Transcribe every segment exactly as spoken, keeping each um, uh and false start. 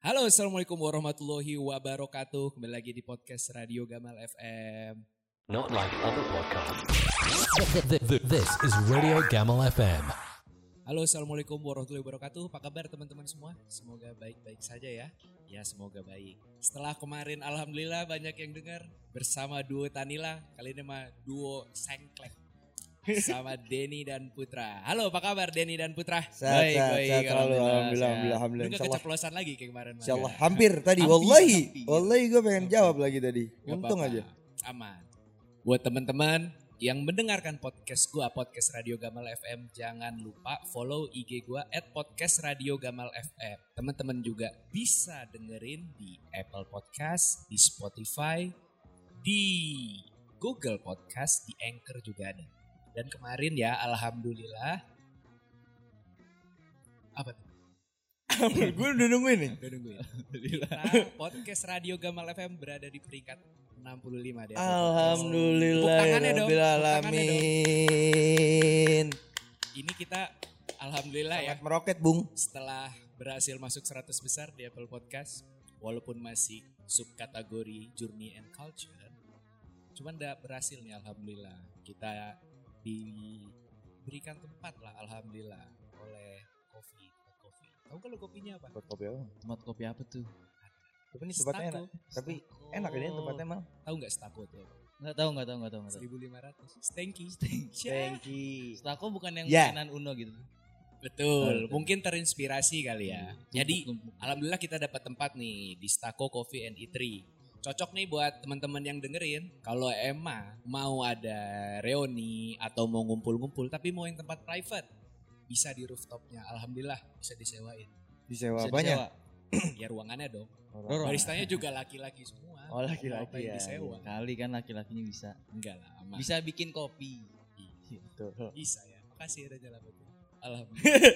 Halo, assalamualaikum warahmatullahi wabarakatuh. Kembali lagi di podcast Radio Gamal F M. Not like other podcasts. This is Radio Gamal F M. Halo, assalamualaikum warahmatullahi wabarakatuh. Apa kabar teman-teman semua? Semoga baik-baik saja ya. Ya, semoga baik. Setelah kemarin alhamdulillah banyak yang dengar bersama duo Tanila. Kali ini mah duo Sengklek. Sama Denny dan Putra. Halo, apa kabar Denny dan Putra? Sehat, sehat, sehat, selalu, alhamdulillah, alhamdulillah, alhamdulillah. Lu gak keceplosan lagi kayak kemarin. Insyaallah, hampir tadi, wallahi, wallahi gue pengen jawab lagi tadi. Untung aja. Aman. Buat teman-teman yang mendengarkan podcast gue, podcast Radio Gamal F M, jangan lupa follow I G gue at podcast Radio Gamal F M. Teman-teman juga bisa dengerin di Apple Podcast, di Spotify, di Google Podcast, di Anchor juga ada. Dan kemarin ya, alhamdulillah. Apa tuh? Gue udah nungguin nih. Udah nungguin. Kita podcast Radio Gamal F M berada di peringkat enam puluh lima deh. Alhamdulillah ya rabbil alamin. Ini kita alhamdulillah ya. Sangat meroket, Bung. Setelah berhasil masuk seratus besar di Apple Podcast, walaupun masih subkategori Journey and Culture, cuman udah berhasil nih alhamdulillah. Kita diberikan tempat lah alhamdulillah oleh Kopi. Kopi. Tahu kalau kopinya apa? Buat kopi apa? Tempat kopi apa tuh? Tapi ini tempatnya enak. Tapi enak ini tempatnya emang. Tahu nggak Stako tuh? Nggak tahu, nggak tahu, nggak tahu, nggak tahu. seribu lima ratus. Stanky. Thank you. Stako bukan yang Ya. mainan Uno gitu. Betul. Mungkin terinspirasi kali ya. Jadi Tumpuk-tumpuk. alhamdulillah kita dapat tempat nih di Stako Coffee and Eatery. Cocok nih buat teman-teman yang dengerin. Kalau emang mau ada reuni atau mau ngumpul-ngumpul tapi mau yang tempat private, bisa di rooftopnya. Alhamdulillah bisa disewain. Disewa Bisa banyak. disewa. Ya ruangannya dong. Ruangan. Baristanya juga laki-laki semua. Oh, laki-laki Ngapain ya. disewa? Kali kan laki-lakinya bisa. Enggak lah, aman. Bisa bikin kopi. Betul. Bisa ya. Makasih Raja Labubu. Alhamdulillah.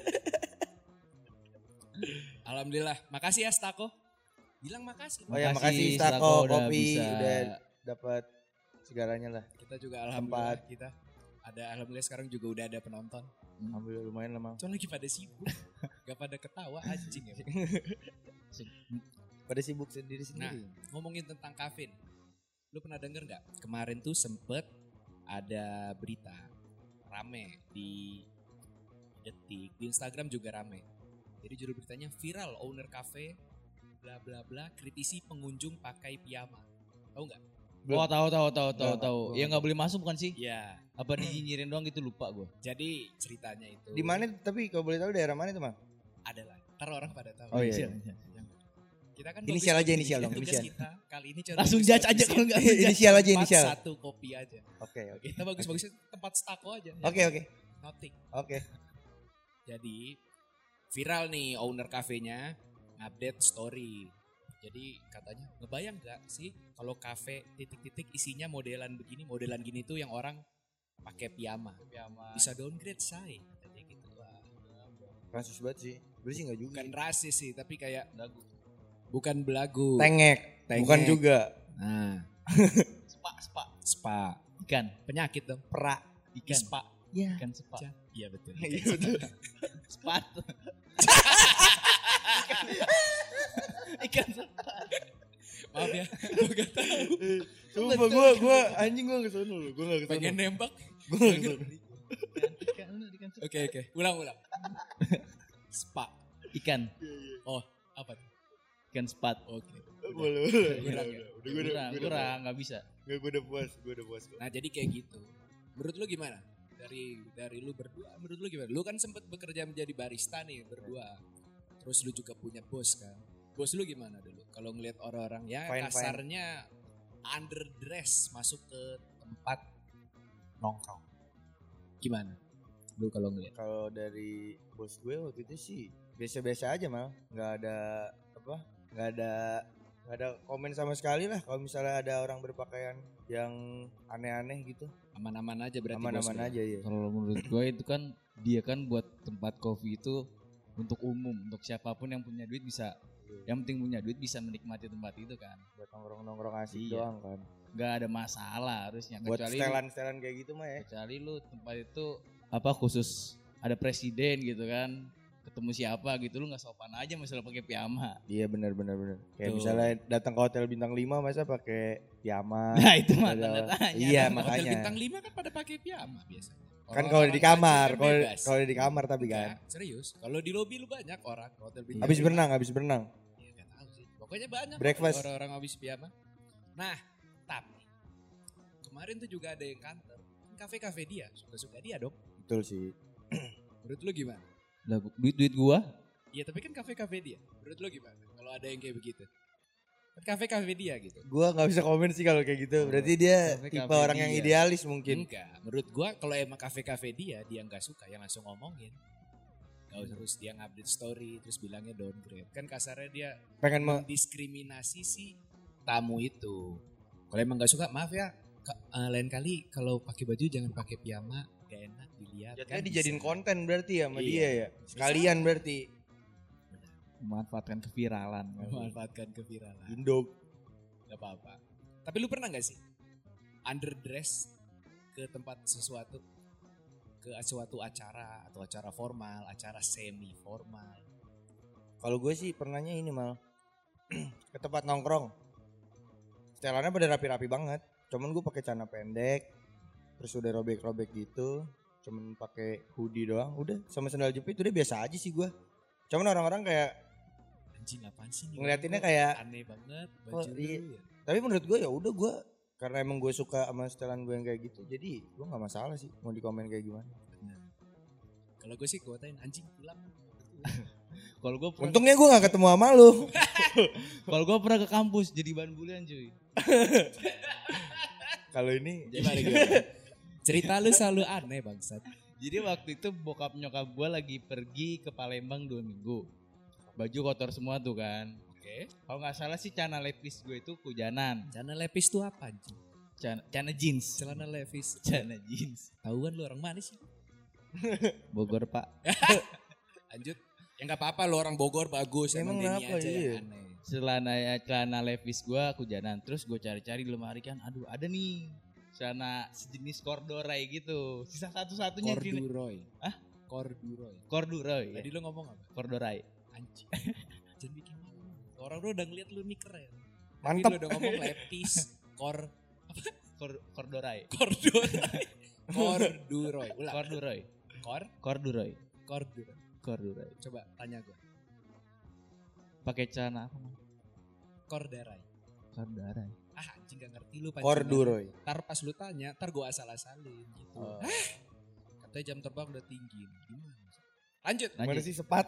Alhamdulillah. Makasih ya Stako. Bilang makasih. Oh ya, Makasih, makasih Stako Stako udah kopi bisa. udah dapat segalanya lah. Kita juga alhamdulillah kita ada alhamdulillah sekarang juga udah ada penonton. Alhamdulillah lumayan lah, Mang. Cuma lagi pada sibuk. Gak pada ketawa anjing ya. Pada sibuk Nah, sendiri-sendiri. ngomongin tentang Kavin. Lu pernah denger gak? Kemarin tuh sempet ada berita rame di Detik, di Instagram juga rame. Jadi judul beritanya viral owner cafe bla bla bla kritisi pengunjung pakai piyama. Tahu nggak? Oh tahu tahu tahu tahu Nggak, tahu. nggak. Ya nggak boleh masuk bukan sih? Ya. Apa dinyinyirin doang gitu lupa gue. Jadi ceritanya itu. Di mana tapi kalau boleh tahu daerah mana itu, Mang? Ada lah. Ntar orang pada tahu. Oh, iya. Kita kan Inisial bagus aja, nih. inisial dong, Tugas inisial. kita kali ini coba Langsung bagus- judge aja kalau nggak. Inisial aja, Tempat inisial. satu kopi aja. Oke, oke. Kita bagus-bagusnya tempat Stako aja. Oke, oke. Noting. Oke. Jadi viral nih owner kafenya update story. Jadi katanya ngebayang gak sih kalau kafe titik-titik isinya modelan begini, modelan gini tuh yang orang pakai piyama. Bisa downgrade say katanya gitu. Wah, Kasus banget sih. Gue sih enggak juga. bukan rasis sih tapi kayak bukan belagu. Tengek. Tengek. Bukan juga. Nah, Spa spa. spa. Ikan. Penyakit dong. Pra. Ikan. Spa. Ya. Ikan spa. Iya betul. Iya betul. Spat. Ikan spa. Maaf ya, gue gak tahu. Sumpah gue gue anjing gue ke sono loh. Gue enggak ke sono. Pengen nembak. Gue enggak ke sono. Ikan ikan spa. Oke oke, ulang ulang. Spa. Ikan. Oh, apa tuh? Ikan spat. Oke. Boleh, boleh. Kurang Udah, ya? udah. Udah gue udah. Kurang, gue udah kurang, nggak bisa. Enggak, gue udah puas, gue udah puas kok. Nah, jadi kayak gitu. Menurut lu gimana? Dari dari lu berdua, menurut lu gimana? Lu kan sempet bekerja menjadi barista nih berdua. Terus lu juga punya bos kan? Bos lu gimana dulu? Kalau ngelihat orang-orang ya Fine, fine. kasarnya underdress masuk ke tempat nongkrong. Gimana? Lu kalau ngelihat? Kalau dari bos gue waktu itu sih biasa-biasa aja mal, nggak ada apa, nggak ada nggak ada komen sama sekali lah. Kalau misalnya ada orang berpakaian yang aneh-aneh gitu, Aman-aman aja berarti bos aman-aman lu. aja ya. Kalau menurut gue itu kan dia kan buat tempat kopi itu untuk umum, untuk siapapun yang punya duit bisa. Yang penting punya duit bisa menikmati tempat itu kan. Buat nongkrong-nongkrong asik Iya. doang kan. Gak ada masalah harusnya. Buat Kecuali setelan-setelan kayak gitu mah ya. kecuali lu tempat itu apa khusus ada presiden gitu kan. ketemu siapa gitu lu nggak sopan aja masalah pakai piyama. Iya benar benar benar. Kayak Tuh. misalnya datang ke hotel bintang lima masa pakai piyama. Nah itu mah Ada- tanda tanya. Iya Hotel makanya. bintang lima kan pada pakai piyama biasanya. Kan kalau di kamar, kan kalau bebas. kalau di kamar tapi kan. Enggak, serius. Kalau di lobi lu banyak orang ke hotel bintang Habis lima. berenang, habis berenang. Ya gak tahu sih. Pokoknya banyak Breakfast. kok orang-orang habis piyama. Nah, tapi kemarin tuh juga ada yang kantor. Kan kafe-kafe dia, suka-suka dia dong. Betul sih. Menurut lu gimana? Lah duit duit gua. Iya, tapi kan kafe-kafe dia. Menurut lu gimana? Kalau ada yang kayak begitu. Kan kafe-kafe dia gitu. Gua nggak bisa komen sih kalau kayak gitu. Berarti dia Kafe-kafe tipe orang yang dia. idealis mungkin. Enggak, menurut gua kalau emang kafe-kafe dia, dia nggak suka yang langsung ngomongin. Gak terus dia ngupdate story, terus bilangnya downgrade. Kan kasarnya dia Pengen me- mendiskriminasi si tamu itu. Kalau emang nggak suka, maaf ya, ka- eh, lain kali kalau pakai baju jangan pakai piyama, gak enak dilihat. jatuhnya Kan dijadiin bisa. konten berarti ya sama Iya. dia ya. Sekalian berarti. Memanfaatkan keviralan. Memanfaatkan keviralan. Indo. Gak apa-apa. Tapi lu pernah gak sih underdress ke tempat sesuatu, ke suatu acara atau acara formal, acara semi formal? Kalau gue sih pernahnya ini mal ke tempat nongkrong. Setelannya pada rapi-rapi banget. Cuman gue pakai celana pendek, terus udah robek-robek gitu. Cuman pakai hoodie doang. Udah sama sandal jepit udah biasa aja sih gue. Cuman orang-orang kayak Anjing apaan sih nih? Ngeliatinnya Kok kayak, aneh banget kok baju lu iya. ya. tapi menurut gue ya udah gue karena emang gue suka sama setelan gue yang kayak gitu. Jadi gue nggak masalah sih mau dikomen kayak gimana. Bener. Kalau gue sih kuatain anjing pulang. Kalau gua pernah, Untungnya gue nggak ketemu sama lu. kalau gua pernah ke kampus jadi bahan bulian cuy. Kalau ini Gimana gimana? Cerita lu selalu aneh bangsat. Jadi waktu itu bokap nyokap gua lagi pergi ke Palembang dua minggu. Baju kotor semua tuh kan. Oke. Kalau nggak salah sih celana levis gue itu hujanan. Celana levis tuh apa anjing? Celana, celana jeans. Celana levis. Celana jeans. Tahuan lu orang mana sih? Bogor pak. Lanjut. Ya nggak apa-apa lu orang Bogor bagus. Emang Emang Denny kenapa, aja iya? yang aneh. Celana ya celana levis gue hujanan. Terus gue cari-cari di lemari kan. Aduh ada nih. Celana sejenis corduroy gitu. Sisa satu-satunya di Corduroy. Hah? Corduroy. corduroy. Tadi Ya. lu ngomong apa? Corduroy. Anjing. Jangan bikin malu. Orang lu udah ngeliat lu nih keren. Tapi mantap. lu udah ngomong lepis. Kor. Cor corduroy. Corduroy. Corduroy. Ulang. Corduroy. Kor. Corduroy. Corduroy. Corduroy. Coba tanya gue. Pakai celana apa? Man? Corduroy. Corduroy. Ah anjing gak ngerti lu pancingan. Corduroy. Ntar pas lu tanya, ntar gue asal-asalin gitu. Oh. Hah? Katanya jam terbang udah tinggi. Gimana? Lanjut. Lanjut. Mana sih sepat?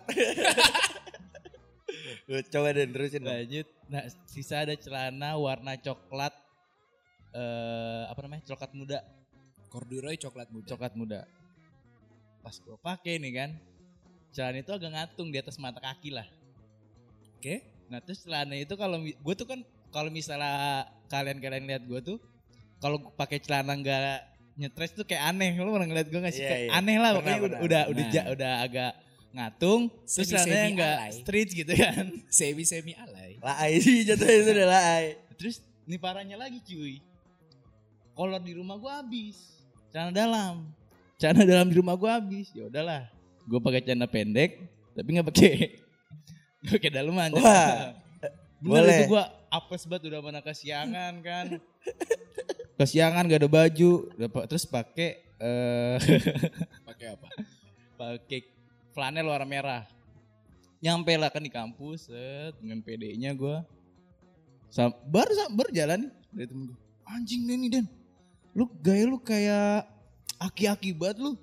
Lu coba deh terusin dong. Lanjut. Nah, sisa ada celana warna coklat eh apa namanya? Coklat muda, Corduroy coklat muda. coklat muda. Pas gua pakai nih kan. Celana itu agak ngatung di atas mata kaki lah. Oke. Nah, terus celana itu kalau mi- gua tuh kan kalau misalnya kalian-kalian lihat gua tuh kalau pakai celana enggak nyetres tuh kayak aneh. Lu pernah ngeliat gua enggak sih? Iya, Kayak iya. aneh lah Pernah, pokoknya pernah. udah udah Nah. ja- udah agak ngatung, terus Semi-semi celananya enggak alay. straight gitu kan. Semi-semi alay. Laai sih jatuhnya itu udah laai. Terus ini parahnya lagi cuy. Kolor di rumah gua habis. Celana dalam. Celana dalam di rumah gua habis. Ya udahlah. Gua pakai celana pendek tapi enggak pakai enggak pakai daleman. Wah. Bener boleh. itu gua apes banget udah mana kesiangan kan. Kesiangan gak ada baju, udah pa- terus pakai eh Pakai apa? pakai flanel warna merah. Nyampe lah kan di kampus, set, dengan P D-nya gue. Sam- baru sam- baru jalan dari temen gue. Anjing Denny Den, lu gaya lu kayak aki-aki banget lu.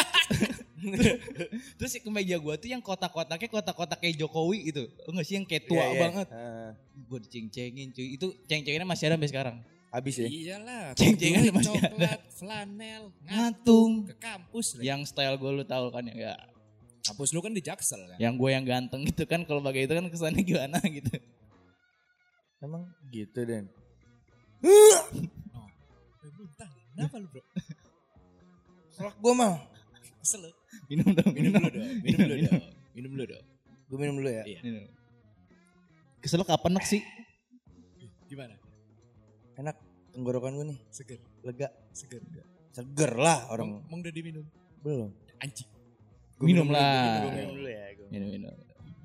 Terus si kemeja gue tuh yang kotak-kotaknya kotak-kotak kayak Jokowi gitu. Lu gak sih yang kayak tua Iya, iya. banget. Ah, Gue diceng-cengin cuy. Itu ceng-cenginnya masih ada sampai sekarang. habis ya. Iyalah. Ceng-cengan Corduroy, masih ada. coklat, flanel, Ngatung. ke kampus. lagi. Yang style gue lu tahu kan ya. ya. Kampus lu kan di Jaksel kan? Yang gue yang ganteng gitu kan. Kalau pakai itu kan kesannya gimana gitu. Emang gitu Den. Oh. Eh, muntah. Kenapa lu bro? Selak gua mah. Kesel lu? Minum dong. Minum dulu dong. Minum dulu dong. Minum dulu dong. Gue minum dulu ya. Iya. Minum. Kesel kapan sih? Gimana? Enak tenggorokan gue nih. Seger. Lega. Seger. Seger lah orang. Emang, emang udah diminum? Belum. Anjing. Gua Minum dulu, lah. Gue minum dulu ya. Gua. Minum minum.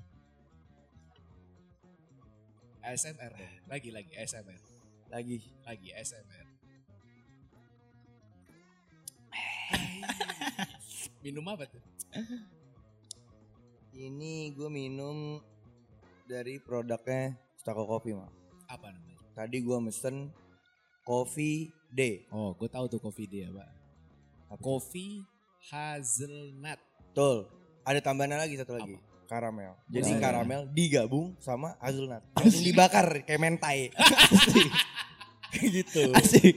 A S M R deh. Lagi lagi A S M R. Lagi. Lagi A S M R. Minum apa tuh? Ini gue minum dari produknya Stako Coffee mah. Apa namanya? Tadi gue mesen Coffee Day. Oh, gue tahu tuh coffee dia, Pak. Coffee hazelnut. Betul. Ada tambahan lagi satu lagi. Karamel. Jadi Oh, iya. karamel digabung sama hazelnut. Langsung dibakar kayak mentai. Kayak gitu. Asik.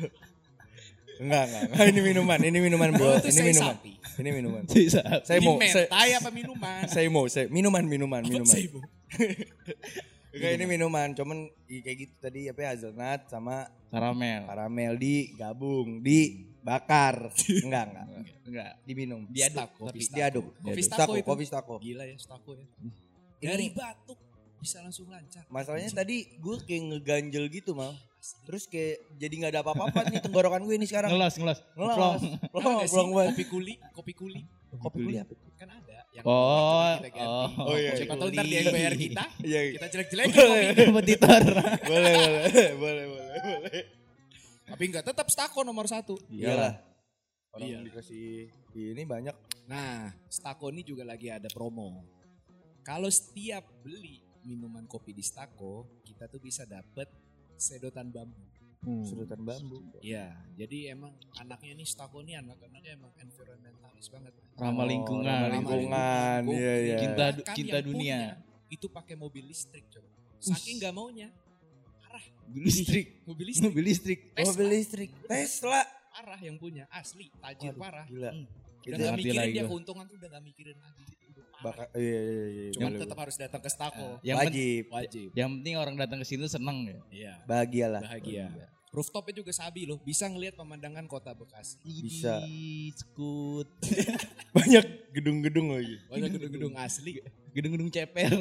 Enggak, enggak, enggak. Ini minuman, ini minuman bro. Oh, itu Ini sei minuman. sapi. Ini minuman. Bisa. Saya Ini mau, saya, mentai apa minuman? saya mau, saya minuman, minuman, Apa minuman. seibu? Enggak, ini minuman. Cuman i- kayak gitu tadi apa ya, hazelnut sama Karamel. karamel digabung, dibakar. Enggak, enggak. Enggak. Diminum. Diaduk. Stako, Tapi Stako. Diaduk. Kopi Stako, stako itu. kopi stako. Gila ya stako ya. Ini- Dari batuk bisa langsung lancar. Masalahnya tadi gue kayak ngeganjel gitu mal. Terus kayak jadi nggak ada apa-apa nih tenggorokan gue ini sekarang. ngelas ngelas. Ngelas. Plong. Tahu Plong, nggak sih plong banget. kopi kuli, kopi kuli Kopi kulit apa? kan ada yang Oh, coba kita ganti. oh. Oh, iya, Siapa iya. tahu ntar dia yang bayar kita, Iya. kita jelek-jelekin kopi. Kompetitor. Boleh, boleh, boleh, boleh, boleh. Tapi enggak tetap stako nomor satu. Iyalah. Orang Iya. dikasih ini banyak. Nah, Stako ini juga lagi ada promo. Kalau setiap beli minuman kopi di Stako, kita tuh bisa dapet sedotan bambu. Sedotan bambu. Iya, jadi emang anaknya nih Stako nih anak-anaknya emang environmentalis banget. Ramah lingkungan. ramah lingkungan. Gokil. Iya, iya. Cinta du- Bahkan cinta yang dunia. punya itu pakai mobil listrik coba. Saking nggak maunya, parah. Mobil listrik. Mobil listrik, Mobil listrik. Tesla. Mobil listrik. Tesla. parah yang punya, asli, tajir Waduh, parah. gila. Hmm. Itu Udah nggak ngerti mikirin lagi dia gua. keuntungan tuh udah nggak mikirin lagi. Udah parah. Bakal, iya, iya, iya. Cuman boleh, tetap harus datang ke Stako. Yang pen- wajib. Wajib. Yang penting orang datang ke sini seneng ya. Iya. Bahagialah. Bahagia. Rooftopnya juga sabi loh, bisa ngelihat pemandangan kota Bekasi. Bisa. Ih, Skut. Banyak gedung-gedung lagi. Banyak gedung-gedung asli. Gedung-gedung ceper.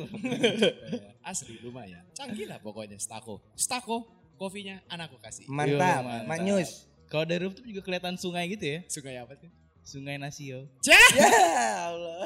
Asli lumayan. Canggih lah pokoknya Stako. Stako, kopinya anakku kasih. Mantap, mantap. Manyus. Kalau dari rooftop juga kelihatan sungai gitu ya. Sungai apa tuh? Sungai Nasio. Ya Allah.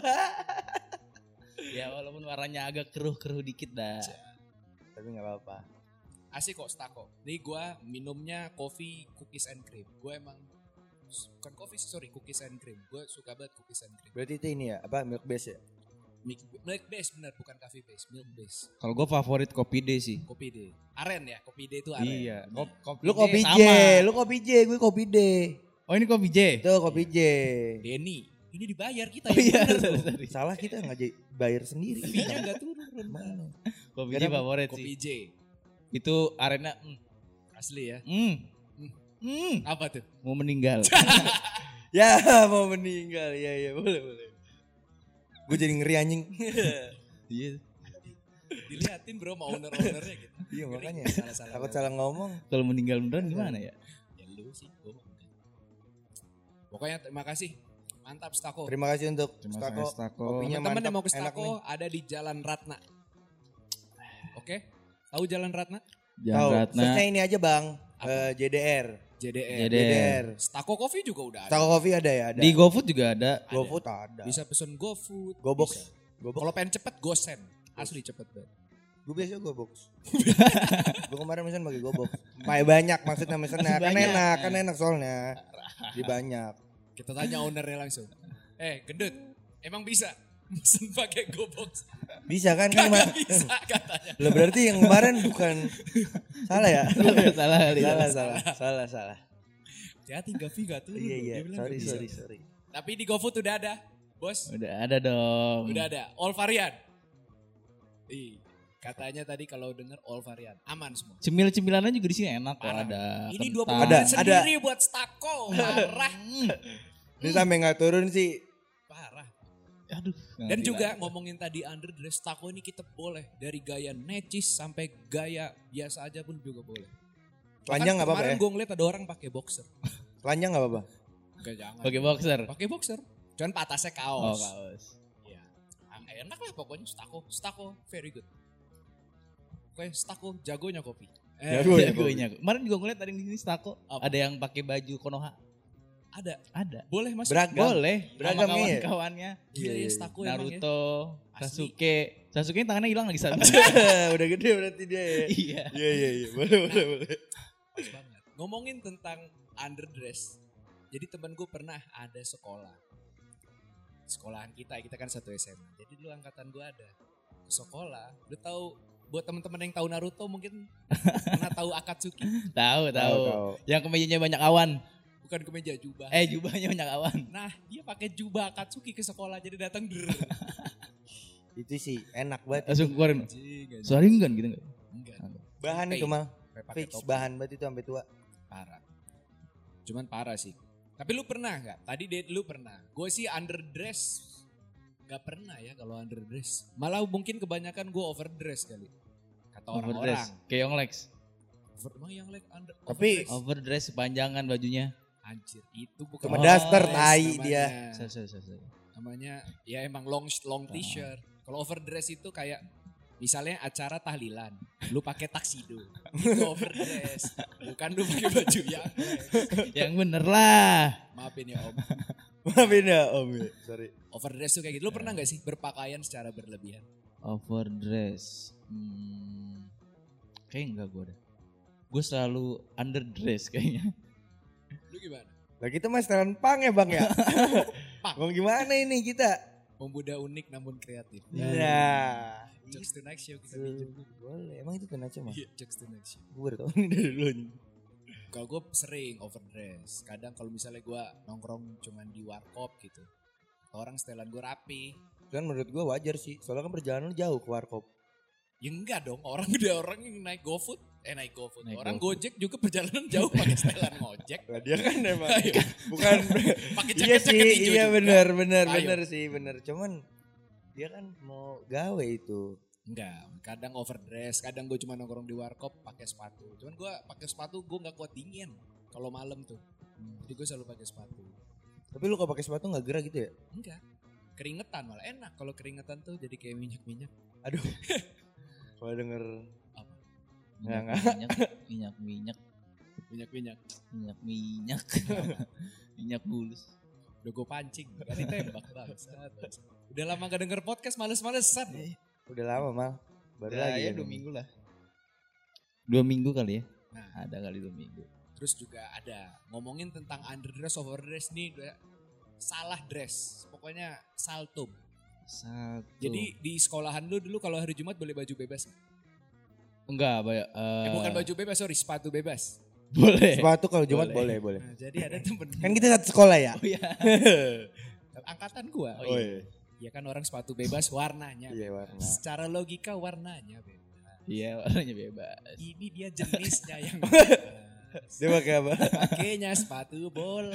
Ya walaupun warnanya agak keruh-keruh dikit dah. Tapi nggak apa-apa. Asik kok Stako. Nih gue minumnya kopi cookies and cream. Gue emang bukan kopi sih, sorry, cookies and cream. Gue suka banget cookies and cream. Berarti itu ini ya, apa milk base ya? Milk, milk base bener, bukan coffee base, milk base. Kalau gue favorit kopi D sih. Kopi D. Aren ya, kopi D itu aren. Iya. Kop- kopi Lu D kopi J, sama. lu kopi J, gue kopi D. Oh ini kopi J. Itu kopi J. Denny, ini dibayar kita Oh ya. iya. bener loh. sorry. Salah kita nggak j- bayar sendiri. Fee-nya gak turun. Mana? Kopi J Kenapa? favorit Kopi sih. J, Itu arena. Mm, asli ya. mm, mm, Apa tuh? mau meninggal. Ya mau meninggal, ya ya boleh boleh. Gue jadi ngeri anjing. Iya. Diliatin bro sama owner-ownernya gitu. Iya Ngeri, makanya. salah-salah. Takut salah ngomong. Kalau meninggal beneran gimana ya? Ya lu sih, gua mah enggak. Pokoknya terima kasih. Mantap Stako. Terima kasih untuk Terima Stako. kasih, Stako. Kopinya Teman-teman mantap, yang mau ke enak Stako ada di Jalan Ratna. Oke? Tahu Jalan Ratna? nih. Tahu. Jangan Ratna. Search-nya ini aja bang. Apa? Eh, J D R. J D R. J D R. Stako Coffee juga udah ada. Stako Coffee ada ya? Ada. Di GoFood juga ada. GoFood ada. Bisa pesen GoFood. GoBox. bisa. GoBox. Kalau pengen cepet GoSend. Asli cepet banget. Gue biasa GoBox. Gue kemarin mesen pakai GoBox. Pakai banyak maksudnya mesennya. Kan Banyak. enak, kan enak soalnya. Di banyak. Kita tanya ownernya langsung. Eh gendut, emang bisa pesen pakai GoBox? Bisa kan kan Gak kema- bisa katanya. Lah berarti yang kemarin bukan salah ya? Salah kali. salah, salah, salah, salah. Hati-hati Gavi gak turun. Iya, iya. Dia bilang Sorry, gak bisa. sorry, sorry. Tapi di GoFood udah ada. Bos, Udah ada dong. udah ada. All varian. Ih, katanya tadi kalau denger all varian. Aman semua. Cemil-cemilannya juga di sini enak kok Parah. ada. Ini kentang. dua puluh Ada, menit sendiri buat Stako. Parah. Ini sampai nggak turun sih. Parah. Aduh. Dan ngerti juga lah. ngomongin tadi underdress, Stako ini kita boleh. Dari gaya necis sampai gaya biasa aja pun juga boleh. Telanjang nggak apa-apa ya? Kemarin gue ngeliat ada orang pakai boxer. Telanjang nggak apa-apa. Enggak jangan. Pakai boxer. Pakai boxer. Cuman atasnya Oh, kaos. kaos. Iya. Ang- Enak lah pokoknya Stako. Stako very good. Oke, Stako jagonya kopi. Eh, Jago ya, Jagonya. Kemarin juga ngeliat ada di sini Stako. Apa? Ada yang pakai baju Konoha. Ada. Ada. Boleh masuk. Beragam. Boleh. Beragam Sama iya. kawan-kawannya. Gila Iya, ya iya. Staku emang ya. Naruto, Asli. Sasuke. Sasuke tangannya hilang lagi satu. Udah gede berarti dia ya. Iya. Iya iya iya. Boleh boleh boleh. Pas banget. Ngomongin tentang underdress. Jadi temen gue pernah ada sekolah. Sekolahan kita, kita kan satu S M A. Jadi dulu angkatan gue ada ke sekolah. Lu tahu buat teman-teman yang tahu Naruto mungkin pernah tahu Akatsuki? Tahu, tahu. tahu. Yang kemejanya banyak awan. Bukan kemeja jubah. Eh, jubahnya banyak awan. Nah, dia pakai jubah Akatsuki ke sekolah jadi datang der. Itu sih enak banget. Langsung keluarin. Anjing, anjing. Saringan gitu enggak? Enggak. Bahan Topi. itu mal. Sampai pakai Fix topi. bahan banget itu sampai tua. Parah. Cuman parah sih. Tapi lu pernah nggak? Tadi date lu pernah. Gue sih underdress. Gak pernah ya kalau underdress. Malah mungkin kebanyakan gue overdress kali. Kata orang-orang. Overdress. Kayak Yonglex. Over, emang yang like under, Tapi- overdress? Overdress sepanjangan bajunya. Anjir, itu bukan Cuma Oh, daster overdress tai namanya. dia. Sorry, sorry, sorry, sorry. Namanya ya emang long long t-shirt. Kalau overdress itu kayak misalnya acara tahlilan, lu pakai taksido, itu overdress. Bukan lu pakai baju yang Yang bener lah. maafin ya om. Maafin ya om ya. Sorry. Overdress tuh kayak gitu. Lu pernah nggak sih berpakaian secara berlebihan? Overdress. Hmm. Kayaknya enggak gue deh. Gue selalu underdress kayaknya. Lu gimana? Lah kita mah setelan pang ya bang ya. Pang. Mau gimana ini kita? Pemuda unik namun kreatif. Nah. Jokes to next show kita Itu. pinjam. Boleh. Emang itu kena cuma? Iya, jokes to next show. Gue udah tau ini dari dulu nih. Kalau gue sering overdress. Kadang kalau misalnya gue nongkrong cuman di warkop gitu. Orang setelan gue rapi. Kan menurut gue wajar sih. Soalnya kan perjalanan lu jauh ke warkop. Ya enggak dong, orang udah orang yang naik GoFood, eh naik GoFood. Naik Orang GoFood. Gojek juga perjalanan jauh pakai setelan ngojek. Lah dia kan emang Ayo. bukan Pakai iya jaket-jaket sih, hijau iya juga. benar benar Ayo. benar sih, benar. Cuman dia kan mau gawe itu. Enggak, kadang overdress, kadang gue cuma nongkrong di warkop pakai sepatu. Cuman gue pakai sepatu gue nggak kuat dingin kalau malam tuh. Jadi gue selalu pakai sepatu. Tapi lu kalau pakai sepatu nggak gerah gitu ya? Enggak, keringetan malah enak kalau keringetan tuh jadi kayak minyak-minyak. Aduh. Kalau denger Apa? Nggak, Minyak, minyak, minyak, minyak, Minyak-minyak. minyak, minyak, minyak bulus. Udah gue pancing, gak ditembak bangsat. bangsat. Udah lama gak denger podcast, males-malesan. udah lama mal. Baru Udah, lagi ya kan dua ini. minggu lah. Dua minggu kali ya? Nah, Ada kali dua minggu. terus juga ada ngomongin tentang underdress, overdress nih udah salah dress. Pokoknya saltum. Satu. Jadi di sekolahan lu dulu kalau hari Jumat boleh baju bebas nggak? enggak, banyak. Eh, bukan baju bebas, sorry, sepatu bebas. Boleh. Sepatu kalau Jumat Boleh. boleh, boleh. Nah, jadi ada temen Kan kita satu sekolah ya? Oh iya. angkatan gua. Oh iya. Ya kan orang sepatu bebas warnanya. Iya warna. Secara logika warnanya bebas. Iya, warnanya bebas. Ini dia jenisnya yang bebas. Dia pakai apa? Pakainya sepatu bola.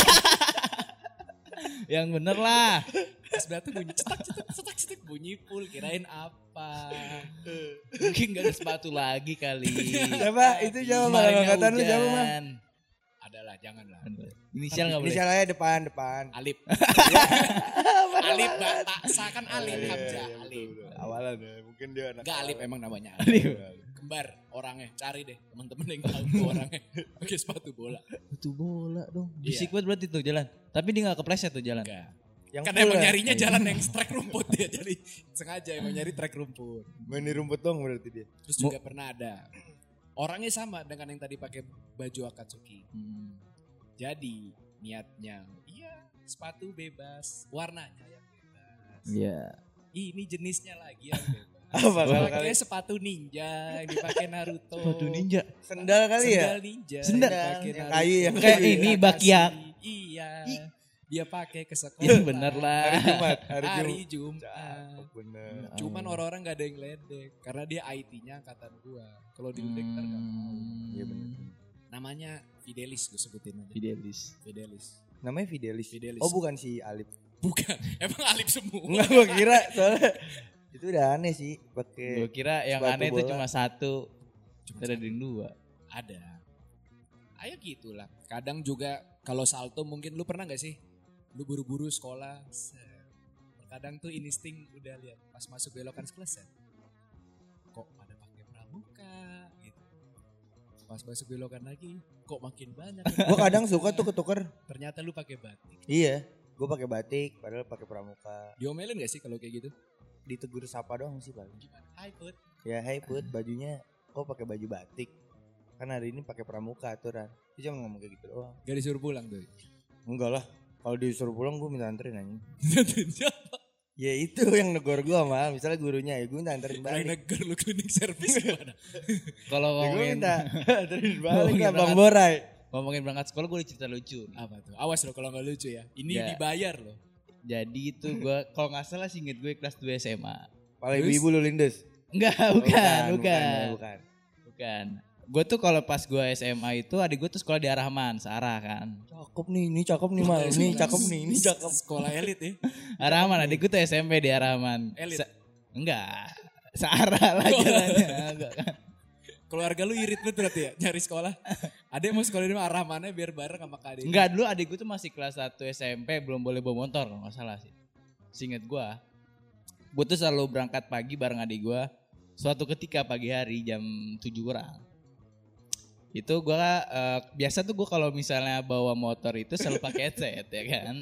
Yang bener lah. Sebelah tuh bunyi cetak cetak cetak cetak bunyi full, kirain apa? Mungkin gak ada sepatu lagi kali. Siapa? Itu siapa mal? Kemarinnya Angkatan lu siapa mal? hujan. Adalah janganlah. Inisial gak boleh. Inisial aja depan, depan. Alip. Alip Mbak Seakan Alip Iya, Hamzah, iya, Alip. betul, betul. Awalan ya, mungkin dia anak. Enggak Alip emang namanya. Alip. Kembar orangnya, cari deh teman-teman yang tahu tuh orangnya pakai sepatu bola. Itu bola dong. Iya. Bisik banget berarti tuh jalan. Tapi dia gak kepleset tuh jalan. Enggak. Yang Kan full emang ya? nyarinya jalan yang trek rumput dia, jadi sengaja emang nyari trek rumput. Main di rumput dong berarti dia. Terus juga pernah ada orangnya sama dengan yang tadi pakai baju Akatsuki. Hmm. Jadi niatnya iya sepatu bebas, warnanya yang bebas. Iya. Ini jenisnya lagi yang bebas. Apa kalau Pakai kali? sepatu ninja yang dipakai Naruto. Sepatu ninja. Sendal kali ya? Sendal ninja. Sendal. dipakai Yang Naruto. kayu, yang Kayak kayu. ini Dikasih. Bakiak. Iya. Dia pakai ke sekolah. Yang bener lah. Hari Jumat, hari, Hari Jumat. Jumat. Bener. Cuman orang-orang gak ada yang ledek karena dia I T-nya angkatan gua. Kalau diledek ntar gak mau. Iya bener. Namanya Fidelis gue sebutin aja. Fidelis. Fidelis. Namanya Fidelis. Fidelis. Oh bukan si Alip. Bukan. Emang Alip semua. Enggak gua kira soalnya itu udah aneh sih pakai Gue kira yang sepatu aneh itu bola. cuma satu. Cuma Ada yang dua. Ada. Ayo gitulah. Kadang juga kalau salto mungkin lu pernah gak sih? Lu buru-buru sekolah. set. Kadang tuh insting udah lihat pas masuk belokan kelas set. Kok pada pakai pramuka gitu. Pas masuk belokan lagi, kok makin banyak. Gue kadang suka tuh ketuker. Ternyata lu pakai batik. Iya, gue pakai batik padahal pakai pramuka. Diomelin gak sih kalau kayak gitu? Ditegur sapa doang sih paling. Gimana? Hai Put. Ya hey Put, bajunya kok pakai baju batik? Kan hari ini pakai pramuka aturan. Dia cuma ngomong kayak gitu doang. Gak disuruh pulang tuh. Enggak lah. Kalau disuruh pulang gue minta anterin anjing. Siapa? Ya itu yang negor gue mal. Misalnya gurunya ya gue minta anterin Yang balik. neger lu cleaning service gimana? Kalau Ya gue ngomongin minta anterin balik Ngomongin lah Bang berangkat. Borai. ngomongin berangkat sekolah gue ada cerita lucu. nih. Apa tuh? Awas lo kalau gak lucu ya. Ini Ya. dibayar loh. Jadi itu gue kalau nggak salah sih inget gue kelas dua S M A. Pala Terus? ibu-ibu lu lindes. Enggak, Oh, bukan, bukan, bukan, bukan. bukan. Gue tuh kalau pas gue S M A itu adik gue tuh sekolah di Ar-Rahman, searah kan. Cakep nih, ini cakep nih mal. Ini cakep nih, ini cakep. Sekolah elit ya. Ar-Rahman, adik gue tuh S M P di Ar-Rahman. Elit? Se- enggak, searah lah jalannya. Enggak kan. Keluarga lu irit banget berarti ya nyari sekolah. Ada yang mau sekolah di Ar-Rahmannya biar bareng sama Kak Ade. Enggak, dulu adik gue tuh masih kelas satu S M P, belum boleh bawa motor kalau nggak salah sih. Seinget gue. Gue tuh selalu berangkat pagi bareng adik gue. Suatu ketika pagi hari jam tujuh kurang. Itu gue uh, biasa tuh gue kalau misalnya bawa motor itu selalu pakai headset ya kan.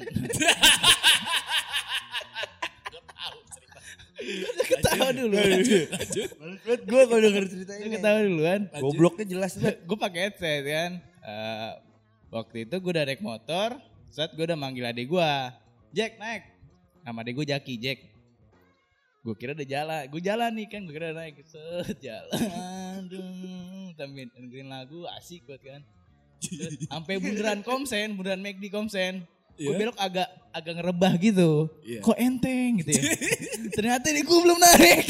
Ketawa dulu. Lanjut. Lanjut gue kalau denger cerita ini. Ketawa duluan. Gobloknya jelas banget. Gue pakai headset kan. Uh, waktu itu gue udah naik motor. Saat gue udah manggil adik gue. Jack naik. Nama adik gue Jaki, Jack. Gue kira udah jalan. Gue jalan nih kan. Gue kira udah naik. Set jalan. Sambil dengerin lagu asik banget kan. Sampai bundaran Komsen. Bundaran McD Komsen. Gue Iya. belok agak agak ngerebah gitu. Iya. Kok enteng gitu ya. Ternyata ini gue belum narik.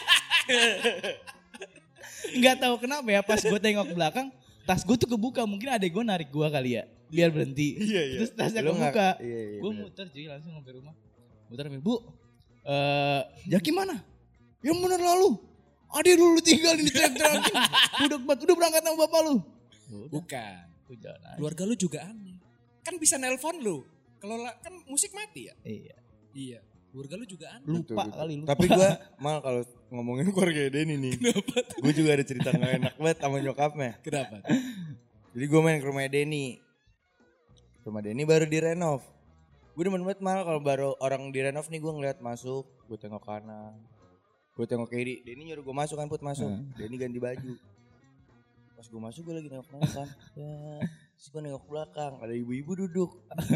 Nggak tahu kenapa ya pas gue tengok ke belakang. Tas gue tuh kebuka. Mungkin adek gue narik gue kali ya. Biar berhenti. Iya, iya. Terus tasnya Lu nggak- kebuka. iya, iya, Gue bener. muter jadi langsung sampai rumah. Muter sampai bu. Eh, Jaki mana? Yang bener lalu. Adik lu lu tinggalin di teriak-teriakin. Udah udah berangkat sama bapak lu. Udah, Bukan. gue jalan aja. Keluarga lu juga aneh. Kan bisa nelpon lu. Kalau la- kan musik mati ya. Iya. Iya. Keluarga lu juga aneh. Lupa Betul, betul. kali lu. Tapi gue mal kalau ngomongin keluarga Denny nih. Gue juga ada cerita gak enak banget sama nyokapnya. Kenapa? Jadi gue main ke rumah Denny. Rumah Denny baru direnov. Gue demen banget mal kalau baru orang direnov nih gue ngeliat masuk. Gue tengok kanan. Gue tengok kiri. Denny nyuruh gue masuk kan Put masuk. Hmm. Denny ganti baju. Pas gue masuk gue lagi nengok-nengok kan. Ya. Terus gue nengok belakang. Ada ibu-ibu duduk.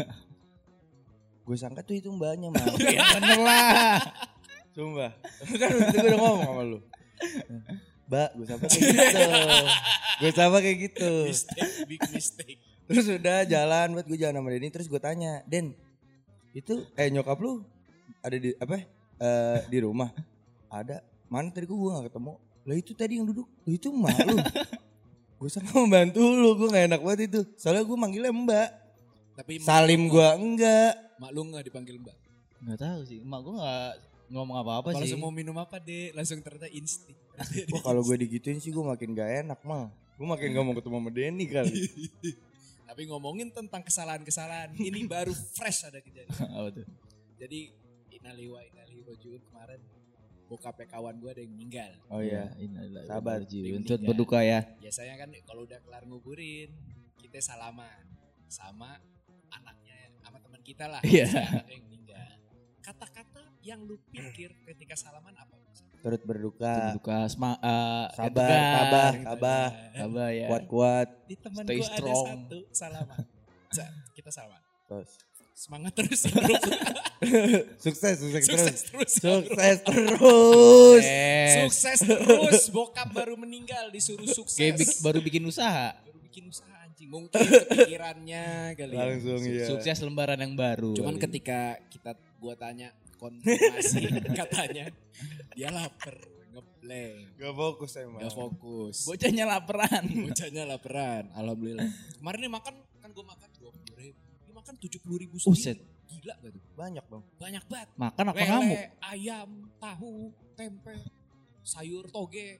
Gue sangka tuh itu mbaknya mal. Ya bener lah. Sumpah. Kan waktu itu gue udah ngomong sama lu. Mbak, gue sapa kayak gitu. Gue sapa kayak gitu. Mistake, big mistake. Terus udah jalan buat gue jalan sama Denny. Terus gue tanya, Den, itu eh nyokap lu ada di apa? Eh di rumah? Ada. Mana tadi gue gak ketemu. Lah itu tadi yang duduk. Lah itu emak lu. Gue sangka membantu lu. Gue gak enak banget itu. Soalnya gue manggilnya mbak. Tapi mak- Salim gue enggak. Mak lu gak dipanggil mbak. Gak tahu sih. Emak gue gak ngomong apa-apa Kalau sih. mau minum apa deh, langsung ternyata insting. Wah kalau gue digituin sih gue makin gak enak mal. Gue makin gak mau ketemu sama Denny kali. Tapi ngomongin tentang kesalahan-kesalahan, ini baru fresh ada kejadian. Apa tuh? Jadi innalillahi wa inna ilaihi rajiun kemarin bokapnya kawan gue ada yang meninggal. Oh iya. Inilah. Sabar, Jiwin. Jiwin. Turut berduka ya. Biasanya kan kalau udah kelar nguburin, kita salaman sama anaknya, sama teman kita lah. Iya. Si anaknya yang meninggal. Kata-kata yang lu pikir ketika salaman apa? Turut berduka. Berduka. Sema, eh, Sabar, tegar. tabah, tabah. Tabah ya. Kuat-kuat. Di teman Stay gue ada strong. satu salaman. Sa- kita salaman. Terus. Semangat terus ya bro. Sukses, sukses, terus. Sukses terus. ya, bro. Sukses terus. Eh, Sukses terus. Bokap baru meninggal disuruh sukses. kayak bik- baru bikin usaha. Baru bikin usaha anjing. Mungkin kepikirannya kali ya. Langsung Su- iya. Sukses lembaran yang baru. Cuman kali. ketika kita gua tanya konfirmasi katanya dia lapar, ngeblank, Gak fokus emang. gak fokus. Bocahnya laparan. Bocahnya laparan, alhamdulillah. Kemarin dia makan, kan gua makan dua puluh ribu. Dia makan tujuh puluh ribu Uset. sendiri. Gila gak tuh? Banyak dong. Banyak banget. Makan apa Lele, ngamuk? ayam, tahu, tempe, sayur toge,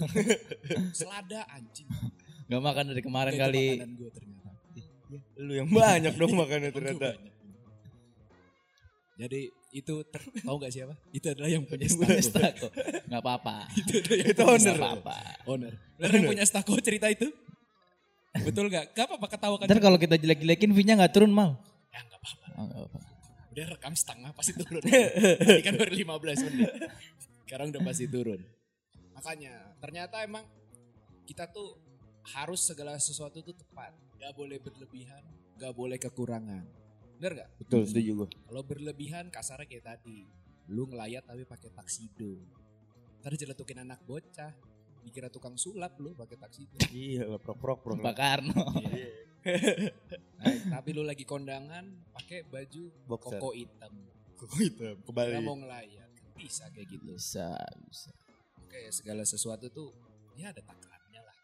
selada anjing. Gak makan dari kemarin Itu kali. makanan gua ternyata. Lu yang banyak dong makannya ternyata. Banyak. Jadi itu ter- tahu gak siapa? Itu adalah yang punya Punya stako. stako. Gak apa-apa. itu adalah yang Itu punya owner. Gak apa-apa. owner. Bener yang punya stako cerita itu? Betul gak? Gak apa-apa ketawa kan. Ntar kalau kita jelek-jelekin V-nya gak turun mal. Ya gak apa-apa. Oh, gak apa. Udah rekam setengah pasti turun. Tadi kan baru lima belas menit. Sekarang udah pasti turun. Makanya ternyata emang kita tuh harus segala sesuatu tuh tepat. Gak boleh berlebihan, gak boleh kekurangan. Bener gak? Betul, setuju gue. Kalau berlebihan kasarnya kayak tadi. Lu ngelayat tapi pakai taksido. Ntar jeletukin anak bocah. Dikira tukang sulap lu pakai taksido. Iya lah, prok-prok prok. Pak Karno. Nah, tapi lu lagi kondangan pakai baju Boxer. koko hitam. Kok itu Kira mau ngelayat. Bisa kayak gitu. Bisa, bisa. Oke, segala sesuatu tuh ya ada takarannya lah.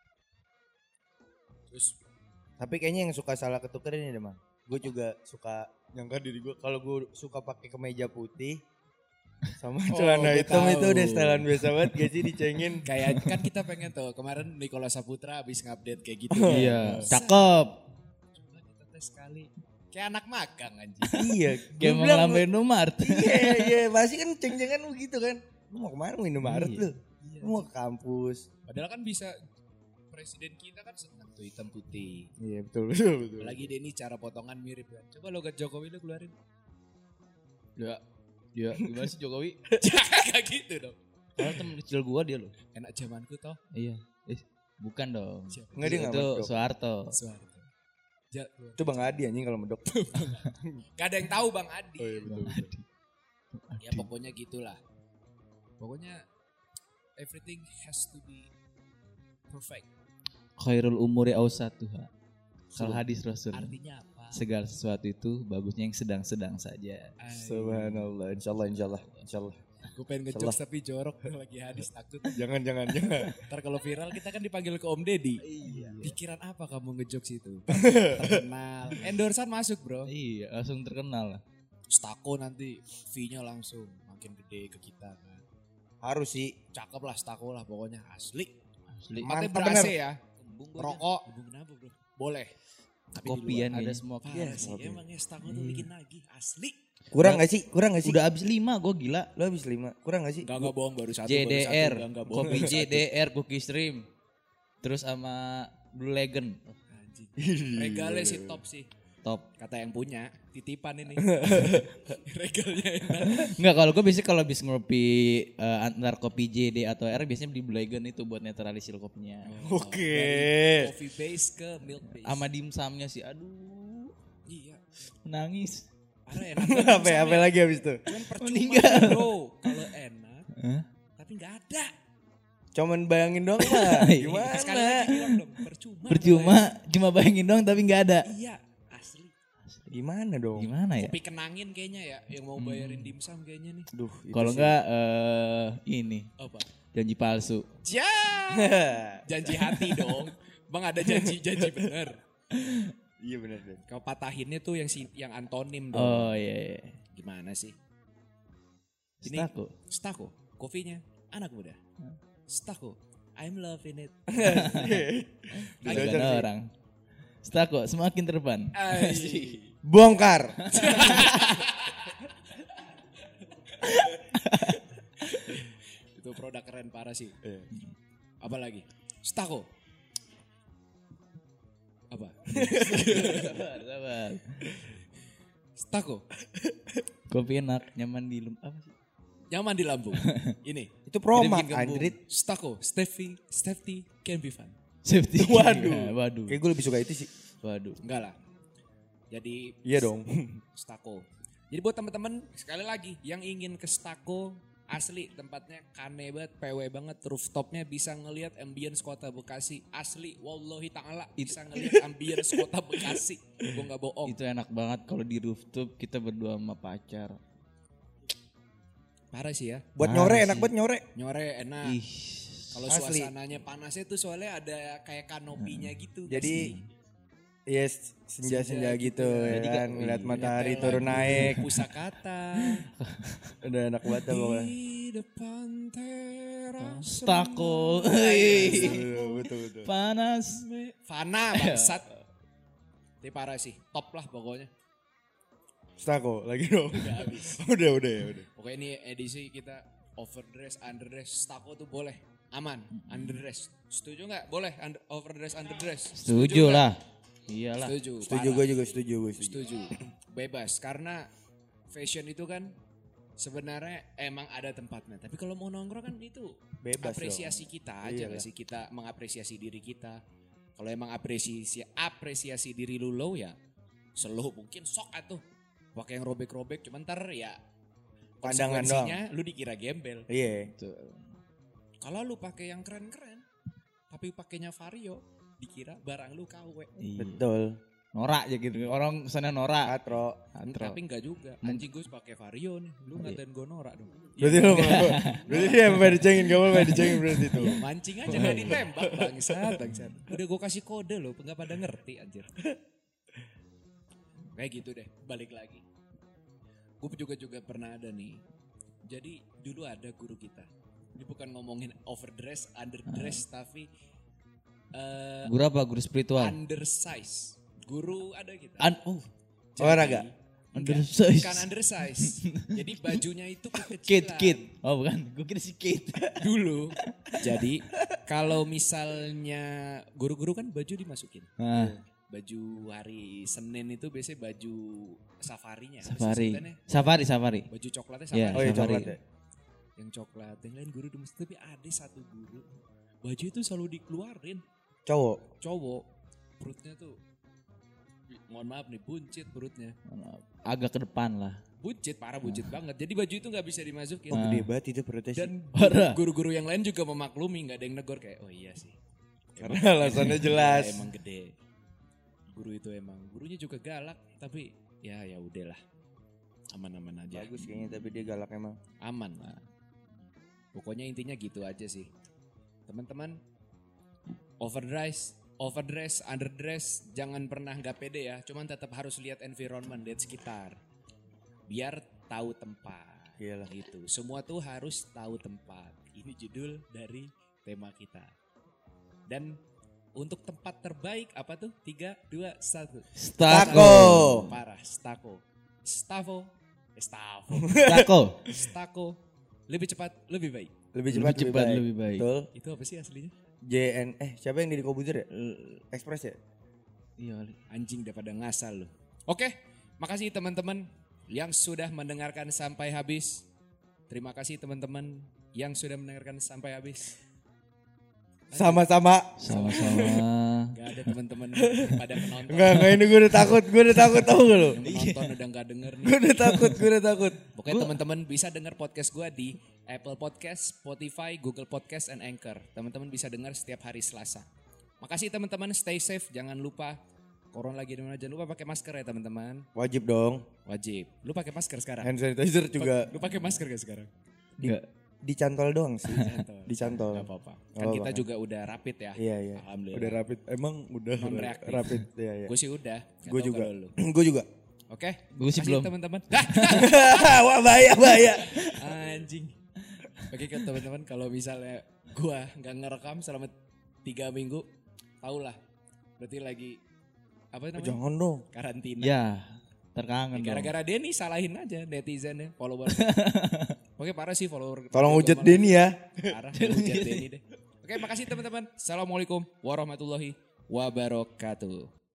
Terus Tapi kayaknya yang suka salah ketuker ini deh, Mang. Gue juga suka nyangka diri gue kalau gue suka pakai kemeja putih sama Oh, celana gue hitam tahu. itu udah setelan biasa banget gak sih dicengin. kayak kan kita pengen tuh kemarin Nicola Saputra habis ngupdate kayak gitu. Iya, Bisa. cakep. Coba kita tes sekali. Kayak anak magang anjing. Iya, Kayak gue mau bilang ngelambain Indomaret. iya iya pasti kan ceng-cengan begitu kan. Lu mau kemana mau Indomaret Iya. lu? Lu mau ke kampus. Padahal kan bisa presiden kita kan senang tuh hitam putih. Iya betul betul betul. Apalagi Denny cara potongan mirip kan. Coba logat Jokowi lu keluarin. Ya, ya gimana sih Jokowi? Jangan kayak gitu dong. Karena temen kecil gua dia loh. Enak zamanku toh. Iya. Eh, bukan dong. Siapa? Enggak dia enggak Itu medok. Soeharto. Soeharto. Ja- Itu Bang Adi anjing kalau medok. Gak ada yang tahu Bang Adi. Oh iya betul. betul. Ya pokoknya gitulah. Pokoknya everything has to be perfect. Khairul umuri awsatuha. Kalau hadis Rasul. Artinya apa? Segala sesuatu itu bagusnya yang sedang-sedang saja. Subhanallah, insyaallah insyaallah insyaallah. Gue pengen ngejokes tapi jorok lagi hadis takut. Jangan jangan jangan. Ntar kalau viral kita kan dipanggil ke Om Deddy. Iya. Pikiran apa kamu ngejokes itu? Terkenal. Endorsean masuk bro. Iya, langsung terkenal lah. Stako nanti fee-nya langsung makin gede ke kita kan. Harus sih. Cakep lah Stako lah pokoknya asli. Asli. Tempatnya Mantap ber-A C bener. ya. Rokok. Kenapa bro? Boleh. Tapi di Kopian luar. ada Ada semua. Parah sih. Emangnya Stako tuh bikin lagi asli. Kurang gak sih? Kurang gak sih? Udah abis lima, gue gila. Lu habis lima. Kurang gak sih? Enggak enggak bohong baru satu. J D R, baru satu, enggak, enggak bohong. kopi J D R, Cookie Stream. Terus sama Blue Legend. Anjing. Regalnya sih top sih. Top. Kata yang punya, titipan ini. Regalnya enak. Enggak, kalau gue biasanya kalau habis ngopi eh, antar kopi J D atau R biasanya beli Blue Legend itu buat netralisir kopinya. Oke. Dari coffee base ke milk base. Sama dimsumnya sih, aduh, Iya. nangis. Parah enak. Apa ya? Apa lagi habis itu? Cuman percuma Meninggal. bro. Kalau enak, Hah? tapi nggak ada. Cuman bayangin doang lah. Sekali Gimana? lagi bilang dong, percuma. Percuma, cuma bayangin doang tapi nggak ada. Iya, asli. Gimana dong? Gimana ya? Kopi kenangin kayaknya ya, yang mau bayarin dimsum kayaknya nih. Duh, itu Kalau sih. enggak eh ini Apa? janji palsu. Ja. Janji hati dong. Bang ada janji-janji bener. Iya benar deh. Kau patahinnya tuh yang si, yang antonim dong. Oh iya. iya. Gimana sih? Ini Stako. Stako, kopinya anak muda. Stako, I'm loving it. Lagi ada orang. Stako semakin terpan. Ay. Bongkar. Itu produk keren parah sih. Apa lagi? Stako. Apa? Sabar, sabar. Stako, Kopi enak, nyaman di lem apa sih? nyaman di lambung. Ini. Itu promak Jadi bikin gembung. anjrit. Stako, Steffi, Steffi can be fun. Safety. Waduh. Ya, waduh. Kayak gue lebih suka itu sih. Waduh. Enggak lah. Jadi Iya dong. Stako. Jadi buat teman-teman sekali lagi yang ingin ke Stako, asli tempatnya kane banget, P W banget, rooftopnya bisa ngelihat ambience kota Bekasi. Asli, wallahi ta'ala bisa ngelihat ambience kota Bekasi. Gue nggak bohong. Itu enak banget kalau di rooftop kita berdua sama pacar. Parah sih ya. Buat Parah nyore sih. enak buat nyore. Nyore enak. Ih. Kalau asli. suasananya panasnya tuh soalnya ada kayak kanopinya gitu. Jadi yes, senja-senja Senja gitu, gitu. ya Jadi kan kan- ngeliat iya, matahari Nyetel turun lagu naik. Pusakata. Udah enak banget dah pokoknya. Di depan teras. Stako. Betul, betul betul. Panas. Fana bangsat. Ini parah sih. Top lah pokoknya. Stako lagi dong. Udah habis. udah udah ya udah. Pokoknya ini edisi kita overdress, underdress, Stako tuh boleh. aman. Underdress, setuju nggak? Boleh under, overdress, underdress. Setuju nggak? lah. Iyalah. Setuju. Setuju parah. gue juga setuju gue setuju. Setuju. Bebas karena fashion itu kan sebenarnya emang ada tempatnya. Tapi kalau mau nongkrong kan itu Bebas apresiasi kita aja Iya nggak lah. sih, kita mengapresiasi diri kita. Kalau emang apresiasi apresiasi diri lu low ya slow mungkin sok atuh. Pakai yang robek-robek cuman ntar ya Pandangan konsekuensinya lu dikira gembel. Iya. Kalau lu pakai yang keren-keren tapi pakainya Vario dikira barang lu K W. Iya. Betul. Norak aja gitu. Orang sana norak. Katro. Antro. Tapi enggak juga. Anjing gue pakai Vario nih. Lu ngatain gue norak dong. Berarti lo berarti dia sampai dicengin, kamu sampai dicengin berarti itu. Ya, mancing aja gak ditembak bangsat, bangsat. Udah gue kasih kode loh, enggak pada ngerti anjir. Kayak gitu deh, balik lagi. Gue juga juga pernah ada nih. Jadi dulu ada guru kita. Ini bukan ngomongin overdress, underdress, tapi eh Guru apa? Guru spiritual. undersize. Guru ada kita. An oh, Jadi- Olahraga? Enggak, Undersize. bukan undersize. Jadi bajunya itu kekecilan. kid kid. Oh bukan, gue kira si kid. Dulu. Jadi kalau misalnya guru-guru kan baju dimasukin. Nah, Baju hari Senin itu biasanya baju safarinya. apa sih safari. sebutannya? Safari, safari. Baju coklatnya Iya, safari. Oh iya Safari. coklat ya. Yang coklat. Yang lain guru dimasukin. Tapi ada satu guru. Baju itu selalu dikeluarin. Cowok. Cowok. Perutnya tuh. Mohon maaf nih, buncit perutnya. Agak ke depan lah. Buncit, parah buncit banget. Jadi baju itu gak bisa dimasukin. Oh gede banget itu perutnya sih. Dan Parah. guru-guru yang lain juga memaklumi, nggak ada yang negor kayak oh iya sih. Karena alasannya jelas. Ya, emang gede. Guru itu emang gurunya juga galak, tapi ya ya udahlah. Aman-aman aja. Bagus kayaknya tapi dia galak emang. Aman lah. Pokoknya intinya gitu aja sih. Teman-teman, overdress, overdress, underdress, jangan pernah nggak pede ya. Cuman tetap harus lihat environment, lihat sekitar. Biar tahu tempat. Iyalah. Gitu. Semua tuh harus tahu tempat. Ini judul dari tema kita. Dan untuk tempat terbaik apa tuh? Tiga, dua, satu. Stako. Parah, stako. Stavo. Eh, Stavo. Stako. Stako. Lebih cepat, lebih baik. Lebih Lebih cepat, cepat, baik. lebih baik. Betul. Itu apa sih aslinya? J N eh siapa yang di Kobuzer ya? Express ya? Iya kali. Anjing daripada ngasal lu. Oke, makasih teman-teman yang sudah mendengarkan sampai habis. Terima kasih teman-teman yang sudah mendengarkan sampai habis. Sama-sama. Sama-sama. Gak ada teman-teman pada penonton. Enggak, enggak ini gue udah takut, gue udah takut tau gak lu? Yang menonton udah gak denger nih. Gue udah takut, gue udah takut. Pokoknya teman-teman bisa dengar podcast gue di Apple Podcast, Spotify, Google Podcast, and Anchor. Teman-teman bisa dengar setiap hari Selasa. Makasih teman-teman, stay safe. Jangan lupa, corona lagi dimana, jangan lupa pakai masker ya teman-teman. Wajib dong. Wajib. Lu pakai masker sekarang? Hand sanitizer juga Lu pakai masker gak sekarang? Enggak. dicantol doang sih. Dicantol. Dicantol. Gak apa-apa. Gak Kan apa-apa. kita juga udah rapid ya. Iya, iya. Alhamdulillah. Udah rapid. Emang udah Non-reaktif. rapid. Iya, iya. Gue sih udah. Gak Gue tahu juga. kalau lu. Gue juga. Oke. Gue sih Makasih belum. teman-teman. Wah, bahaya, bahaya. Anjing. Oke ke teman-teman kalau misalnya gue nggak ngerekam selama tiga minggu, tau lah. Berarti lagi apa namanya? Jangan dong. Karantina. Ya, terkangen Ya, dong. gara-gara Denny salahin aja netizennya, follower. Oke parah sih follower. Tolong Radio hujat Gamal. Denny ya. Parah, hujat Denny deh. Oke makasih teman-teman. Assalamualaikum warahmatullahi wabarakatuh.